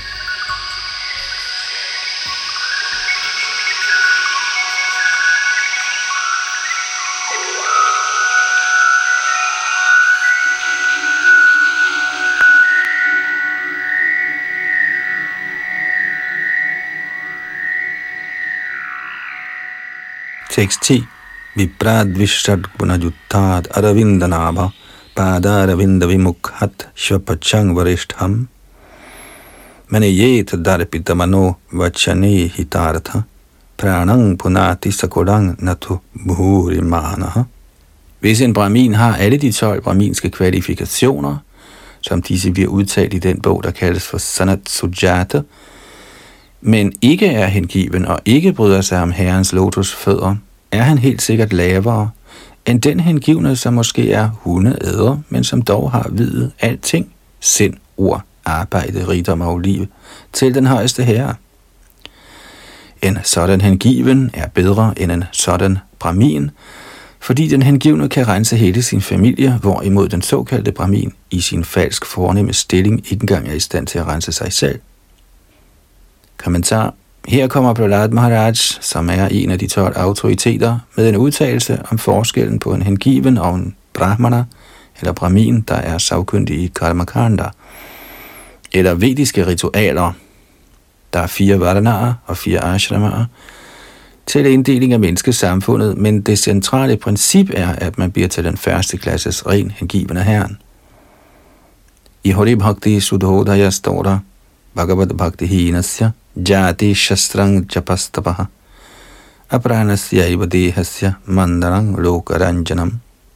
Tekst ti. Vipradvishad gunajuttat aravindanabha padaravinda vimukhat shvapachang varishtham maniyet darpitamano vachane hitartha pranang punati sakodang natu bhuri manaha. Hvis en brahmin har alle de tolv brahminske kvalifikationer, som disse bliver udtalt i den bog, der kaldes for Sanat Sujata, men ikke er hengiven og ikke bryder sig om Herrens lotusfødder, er han helt sikkert lavere end den hengivne, som måske er hundeæder, men som dog har videt alting, sind, ord, arbejde, rigdom og liv, til den højeste herre. En sådan hengiven er bedre end en sådan brahmin, fordi den hengivne kan rense hele sin familie, hvorimod den såkaldte brahmin i sin falsk fornemme stilling ikke engang er i stand til at rense sig selv. Kommentar. Her kommer Prahlad Maharaj, som er en af de tolv autoriteter, med en udtalelse om forskellen på en hengiven og en brahmana, eller brahmin, der er sagkyndig i karmakanda, eller vediske ritualer. Der er fire varanaer og fire ashramaer til inddeling af menneskesamfundet, men det centrale princip er, at man bliver til den første klasses ren hengiven af Herren. I Hari Bhakti Sudhodaya står der, Bhagavad Bhakti Hinasya Jati Shastrang Japastapaha Apranasya Ivadehasya Mandarang Lokaranjanam.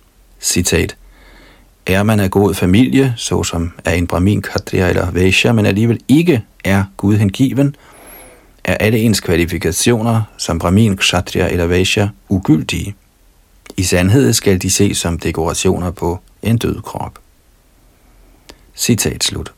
Citat. Er man af god familie, såsom er en brahmin, kshatriya eller vaishya, men alligevel ikke er Gud hengiven, er alle ens kvalifikationer som brahmin, kshatriya eller vaishya ugyldige. I sandhed skal de ses som dekorationer på en død krop. Citat slut.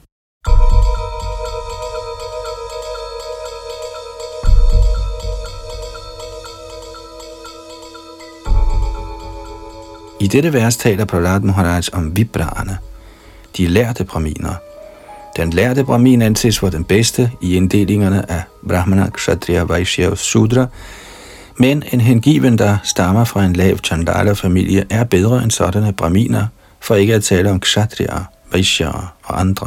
I dette vers taler Prahlad Maharaj om vipraerne, de lærte brahminer. Den lærte brahmin anses for den bedste i inddelingerne af brahmana, kshatriya, vaishya og shudra, men en hengiven, der stammer fra en lav chandala-familie, er bedre end sådanne brahminer, for ikke at tale om kshatriya, vaishya og andre.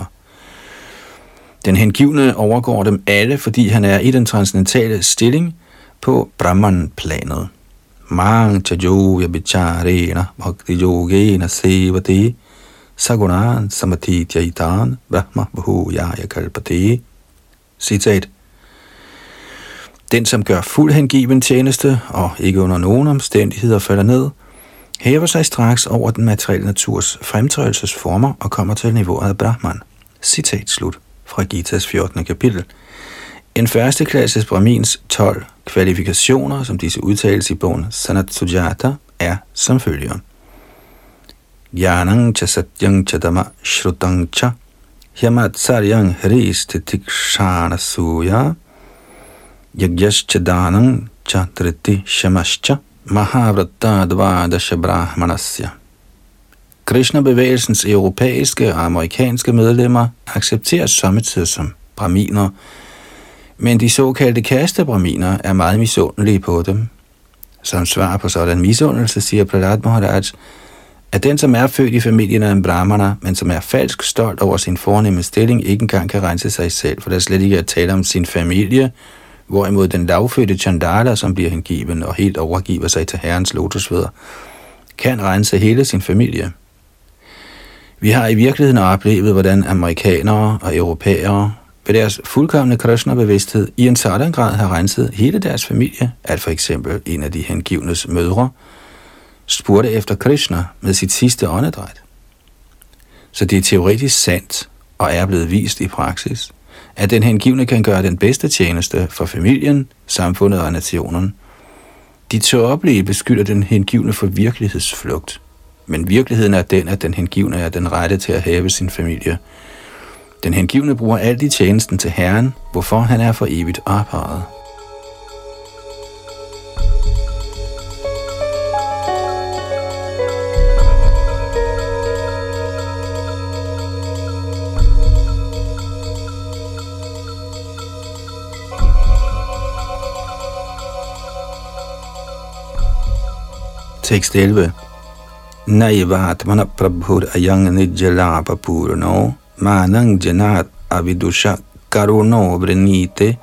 Den hengivne overgår dem alle, fordi han er i den transcendentale stilling på Brahman-planet. Mang chajoya bicharena bhakti yogena sevate sagunan samatitjaitan brahma bhujaya kalpate. Citat. Den, som gør fuld hengiven tjeneste og ikke under nogen omstændigheder falder ned, hæver sig straks over den materielle naturs fremtrædelsesformer og kommer til niveauet af Brahman. Citat slut fra Gitas fjortende kapitel. En førsteklasses brahmins tolv kvalifikationer, som disse udtales i bogen Sanat Sujata, er som følger. Yanang cha satyang cha dhamma shrutang cha hyamat saryang haris titikshana suya yagyash cha danang cha triti shamascha mahavratta dvadasha brahmanasya. Krishna-bevægelsens europæiske og amerikanske medlemmer accepteres sommetider som brahminer, men de såkaldte kaste-brahminer er meget misundelige på dem. Som svar på sådan misundelse siger Prahlad Maharaj, at den, som er født i familien af en brahmana, men som er falsk stolt over sin fornemme stilling, ikke engang kan rense sig selv, for der slet ikke er tale om sin familie, hvorimod den lavfødte chandala, som bliver hengiven og helt overgiver sig til herrens lotusfødder, kan rense hele sin familie. Vi har i virkeligheden oplevet, hvordan amerikanere og europæere ved deres fuldkomne Krishna-bevidsthed i en sådan grad har renset hele deres familie, at for eksempel en af de hengivnes mødre spurgte efter Krishna med sit sidste åndedræt. Så det er teoretisk sandt og er blevet vist i praksis, at den hengivne kan gøre den bedste tjeneste for familien, samfundet og nationen. De tåbelige beskylder den hengivne for virkelighedsflugt, men virkeligheden er den, at den hengivne er den rette til at have sin familie. Den hengivne bruger alt i tjenesten til Herren, hvorfor han er for evigt ophøjet. Tekst elleve. Naivatmana prabhur ayang nijjalapa purno manang janat avidusha karuno vrenite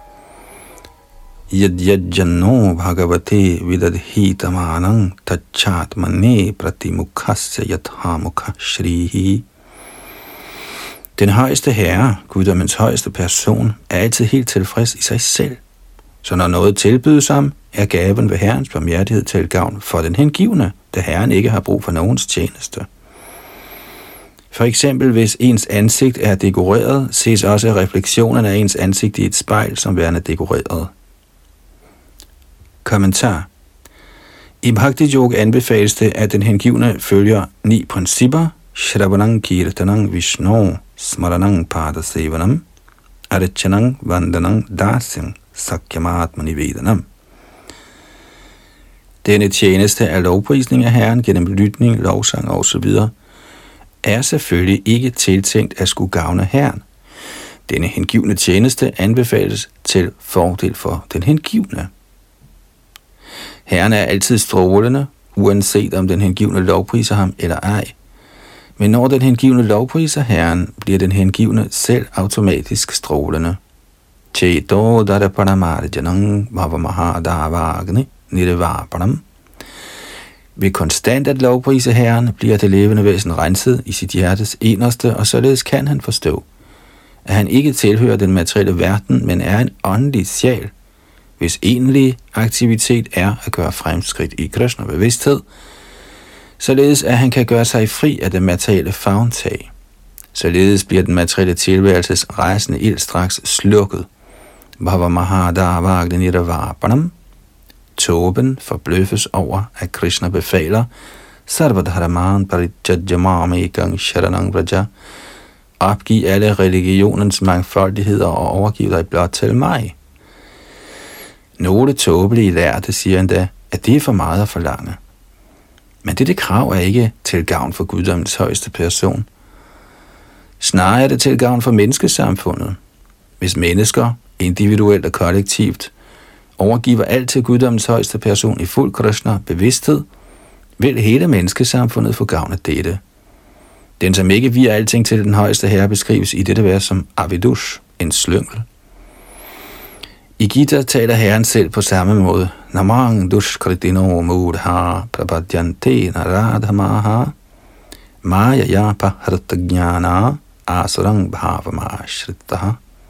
yadyajjano bhagavate vidadhitamanang tachatmane pratimukhasya yathamukha shrihi. Den højeste herre, guddommens højeste person, er altid helt tilfreds i sig selv. Så når noget tilbydes ham, er gaven ved herrens barmhjertighed til gavn for den hengivne, da herren ikke har brug for nogens tjeneste. For eksempel, hvis ens ansigt er dekoreret, ses også refleksionen af ens ansigt i et spejl som værende dekoreret. Kommentar. I Bhakti Yoga anbefales det, at den hengivne følger ni principper: Shravanang Kirtanang Vishnu Smaranang Padasevanam Arichanang Vandanang Dasyang Sakyamatma Nivedanam. Denne tjeneste af lovprisning af Herren gennem lytning, lovsang osv. er selvfølgelig ikke tiltænkt at skulle gavne Herren. Denne hengivne tjeneste anbefales til fordel for den hengivne. Herren er altid strålende, uanset om den hengivne lovpriser ham eller ej. Men når den hengivne lovpriser Herren, bliver den hengivne selv automatisk strålende. Cheto daraparamārjanang bhavamahādāvāgni nirvāpanam. Ved konstant at lovprise Herren, bliver det levende væsen renset i sit hjertes inderste, og således kan han forstå, at han ikke tilhører den materielle verden, men er en åndelig sjæl, hvis egentlige aktivitet er at gøre fremskridt i Krishna-bevidsthed, således at han kan gøre sig fri af det materielle favntag. Således bliver den materielle tilværelses rejsende ild straks slukket. Bhavamahadavagdaniravarpanam. Tåben forbløffes over, at Krishna befaler, Sarvadharaman parijajamamekang sharanang vraja. Opgiv alle religionens mangfoldigheder og overgiv dig blot til mig. Nogle tåbelige lærte siger endda, at det er for meget at forlange. Men dette krav er ikke til gavn for guddommens højeste person. Snarere er det til gavn for menneskesamfundet. Hvis mennesker, individuelt og kollektivt, overgiver alt til guddommens højeste person i fuld Krishna bevidsthed, vil hele menneskesamfundet få gavn af dette. Den, som ikke viger alting til den højeste herre, beskrives i dette vers som avidush, en slyngel. I Gita taler herren selv på samme måde. Namang dushkritino mudha prapadyante naradhamaha maya yapa hartagnana asurang bhavamashritaha.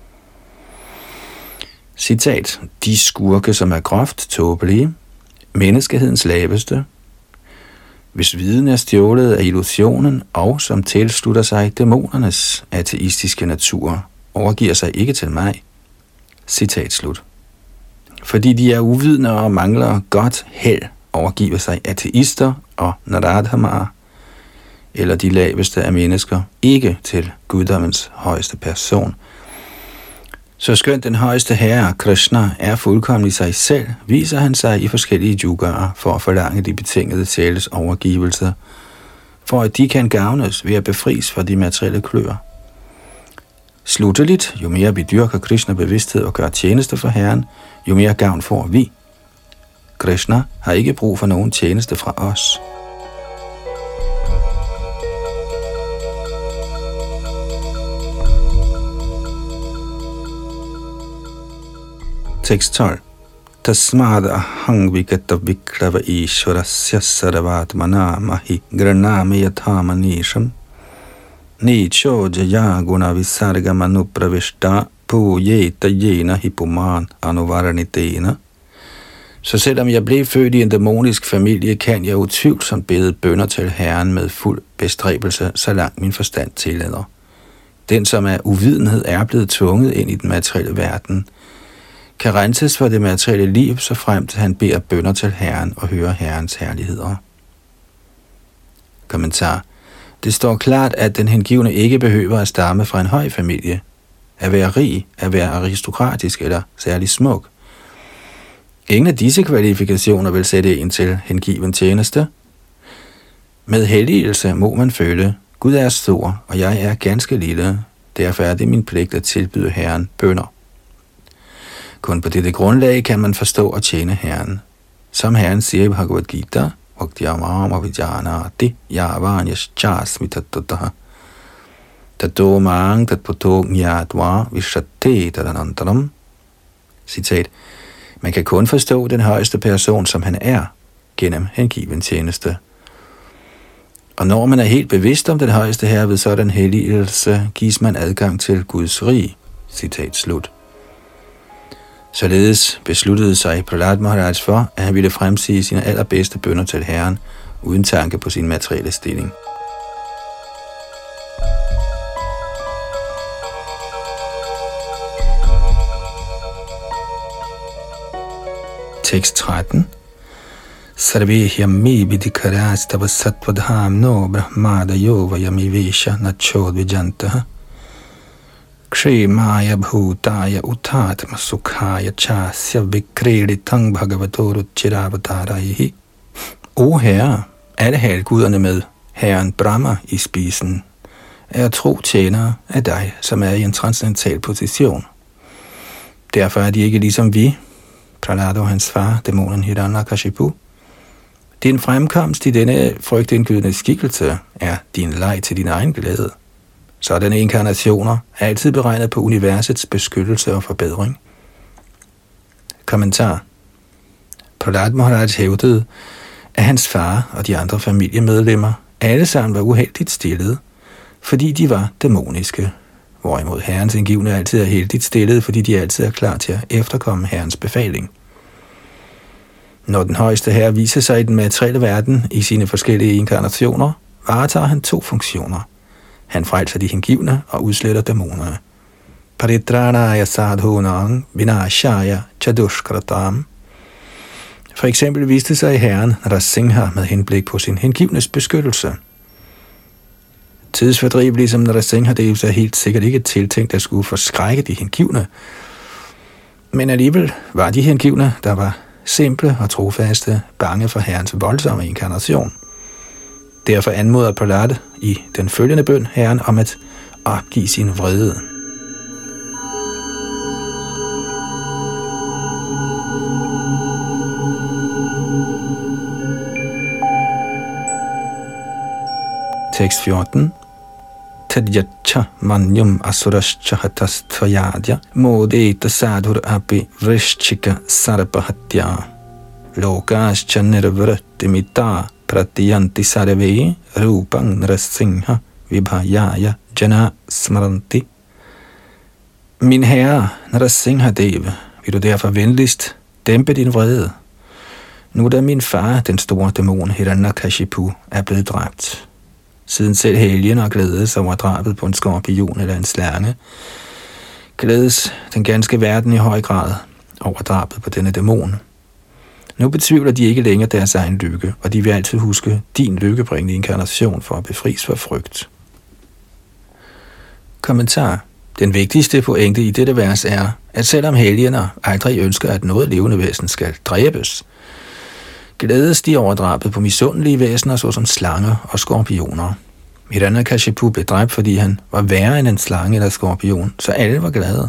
Citat. De skurke, som er groft tåbelige, menneskehedens laveste, hvis viden er stjålet af illusionen og som tilslutter sig dæmonernes ateistiske natur, overgiver sig ikke til mig. Citat slut. Fordi de er uvidende og mangler godt held, overgiver sig ateister og naradhamar, eller de laveste af mennesker, ikke til guddommens højeste person. Så skønt den højeste herre, Krishna, er fuldkommen i sig selv, viser han sig i forskellige yugaer for at forlange de betingede sjæles overgivelser, for at de kan gavnes ved at befries fra de materielle kløer. Slutteligt, jo mere vi dyrker Krishna bevidsthed og gør tjeneste for herren, jo mere gavn får vi. Krishna har ikke brug for nogen tjeneste fra os. Tekst tolv. Tasmad ahang vikata vikrava ishvarasya sarvatmana mahi granami yathamanisham nicho jaya guna visarga manu pravishta pujeta jena hipuman anuvaranitena. Så selvom jeg blev født i en dæmonisk familie, kan jeg utvivlsomt bede bønner til herren med fuld bestræbelse, så langt min forstand tillader. Den, som af uvidenhed er blevet tvunget ind i den materielle verden, kan renses for det materielle liv, så frem til han beder bønner til herren og hører herrens herligheder. Kommentar. Det står klart, at den hengivne ikke behøver at stamme fra en høj familie, at være rig, at være aristokratisk eller særlig smuk. Ingen af disse kvalifikationer vil sætte en til hengiven tjeneste. Med helligelse må man føle, Gud er stor, og jeg er ganske lille. Derfor er det min pligt at tilbyde herren bønner. Kun på dette grundlag kan man forstå og tjene herren. Som herren siger i Bhagavad Gita, Bhakti-amama vijanati yavanyas chasmitataha tato mang tatpato nyatva vishatte tadanantaram. Citat. Man kan kun forstå den højeste person, som han er, gennem hengiven tjeneste. Og når man er helt bevidst om den højeste herre ved sådan helligelse, gives man adgang til Guds rige. Citat slut. Således besluttede sig Prahlad Maharaj for, at han ville fremsige sine allerbedste bønner til herren, uden tanke på sin materielle stilling. Tekst tretten. Sarvehyami vidikaras tava satvadham no brahmada yova yami vesha nachod vijantaha kshemaya bhutaya utatma sukhaya chasya vikreditang bhagavatoruchiravatarayihi. O herre, alle halvguderne med herren Brahma i spisen er tro tjenere af dig, som er i en transcendental position. Derfor er de ikke ligesom vi, Prahlad og hans far, dæmonen Hiranyakashipu. Din fremkomst i denne frygtindgydende skikkelse er din leg til din egen glæde. Sådanne inkarnationer er altid beregnet på universets beskyttelse og forbedring. Kommentar. Prahlad Maharaj hævdede, at hans far og de andre familiemedlemmer alle sammen var uheldigt stillede, fordi de var dæmoniske, hvorimod herrens indgivne altid er heldigt stillede, fordi de altid er klar til at efterkomme herrens befaling. Når den højeste herre viser sig i den materielle verden i sine forskellige inkarnationer, varetager han to funktioner. Han frelser de hengivne og udsletter dæmonerne. Paritranaya sadhunang vinashaya chadushkratam. For eksempel viste sig herren Nrsimha med henblik på sin hengivnes beskyttelse. Tidsfordriv ligesom Nrsimhadev er helt sikkert ikke tiltænkt at skulle forskrække de hengivne, men alligevel var de hengivne, der var simple og trofaste, bange for herrens voldsomme inkarnation. Derfor anmoder Prahlad i den følgende bøn herren om at opgive sin vrede. Tekst fjorten. Tadyacha manyum asurascha hatastvayadya modeta sadhur api vrishchika sarpahatya lokascha nirvritimita pratiyanti sarve rupang nrsimha vibhayaya jana smaranti. Min herre Nrsimhadev, vil du derfor venligst dæmpe din vrede? Nu da min far, den store dæmon Hiranyakashipu, er blevet dræbt. Siden selv helgen og glædes over drabet på en skorpion eller en slange, glædes den ganske verden i høj grad over drabet på denne dæmon. Nu betvivler de ikke længere deres egen lykke, og de vil altid huske din lykkebringende inkarnation for at befries for frygt. Kommentar. Den vigtigste pointe i dette vers er, at selvom helgener aldrig ønsker, at noget levende væsen skal dræbes, glædes de over drabet på misundelige væsener, såsom slanger og skorpioner. Hiranyakashipu blev dræbt, fordi han var værre end en slange eller skorpion, så alle var glade.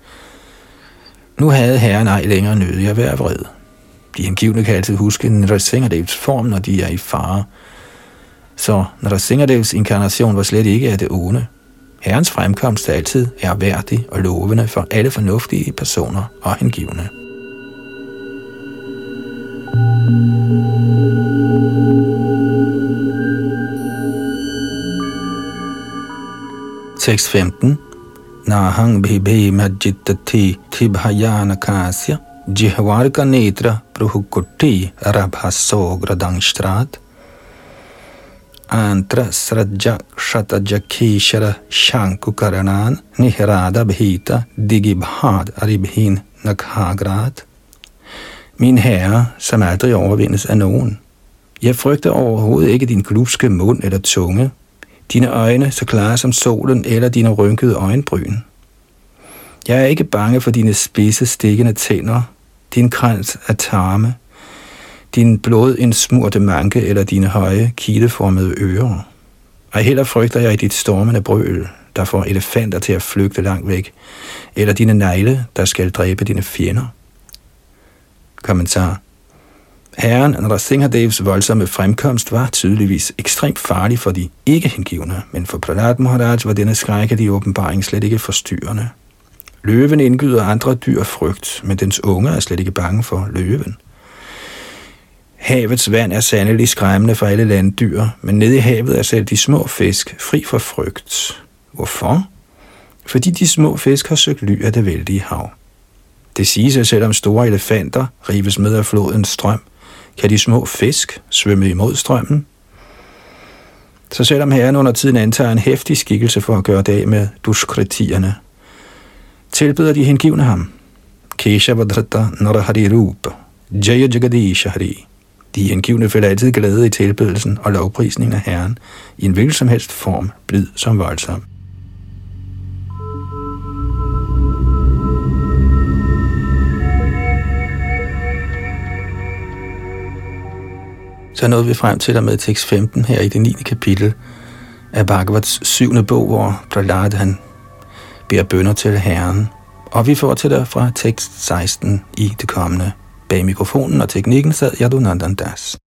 Nu havde herren ej længere nødig at være vred. De hengivne kan altid huske Nrsimhadevs form, når de er i fare. Så Nrsimhadevs inkarnation var slet ikke af det onde. Herrens fremkomst er altid ærværdig og lovende for alle fornuftige personer og hengivne. Tekst femten. Nahang bhibe majitati tibhayanakasya jihvarka netra prahukutti rabhaso gradangstrat antra sradja shatajakishara shankukaranan nihrada bhita digibhad aribhin nakhagrat. Min herre, som aldrig overvindes af nogen. Jeg frygter overhovedet ikke din glupske mund eller tunge, dine øjne så klare som solen eller dine rynkede øjenbryn. Jeg er ikke bange for dine spidse, stikkende tænder, din krans af tarme, din blodindsmurte manke eller dine høje, kileformede ører. Og heller frygter jeg i dit stormende brøl, der får elefanter til at flygte langt væk, eller dine negle, der skal dræbe dine fjender. Kommentar. Herren Nrsimhadevs voldsomme fremkomst var tydeligvis ekstremt farlig for de ikke-hengivne, men for Prahlad Maharaj var denne skrækkelige åbenbaring slet ikke forstyrrende. Løven indgyder andre dyr frygt, men dens unger er slet ikke bange for løven. Havets vand er sandelig skræmmende for alle landdyr, men nede i havet er selv de små fisk fri for frygt. Hvorfor? Fordi de små fisk har søgt ly af det vældige hav. Det siges, at selvom store elefanter rives med af flodens strøm, kan de små fisk svømme imod strømmen. Så selvom herren under tiden antager en heftig skikkelse for at gøre det af med duskritierne, tilbyder de hengivne ham. Keshavadhrata narahari rupa, jaya jagadisha hari. De hengivne føler altid glæde i tilbedelsen og lovprisningen af herren, i en hvilken som helst form, blid som voldsom. Så nåede vi frem til og med tekst femten her i det niende kapitel af Bhagavats syvende bog, hvor Prahlad han beder bønner til herren. Og vi fortsætter fra tekst seksten i det kommende. Bag mikrofonen og teknikken sad Yadunandan Das.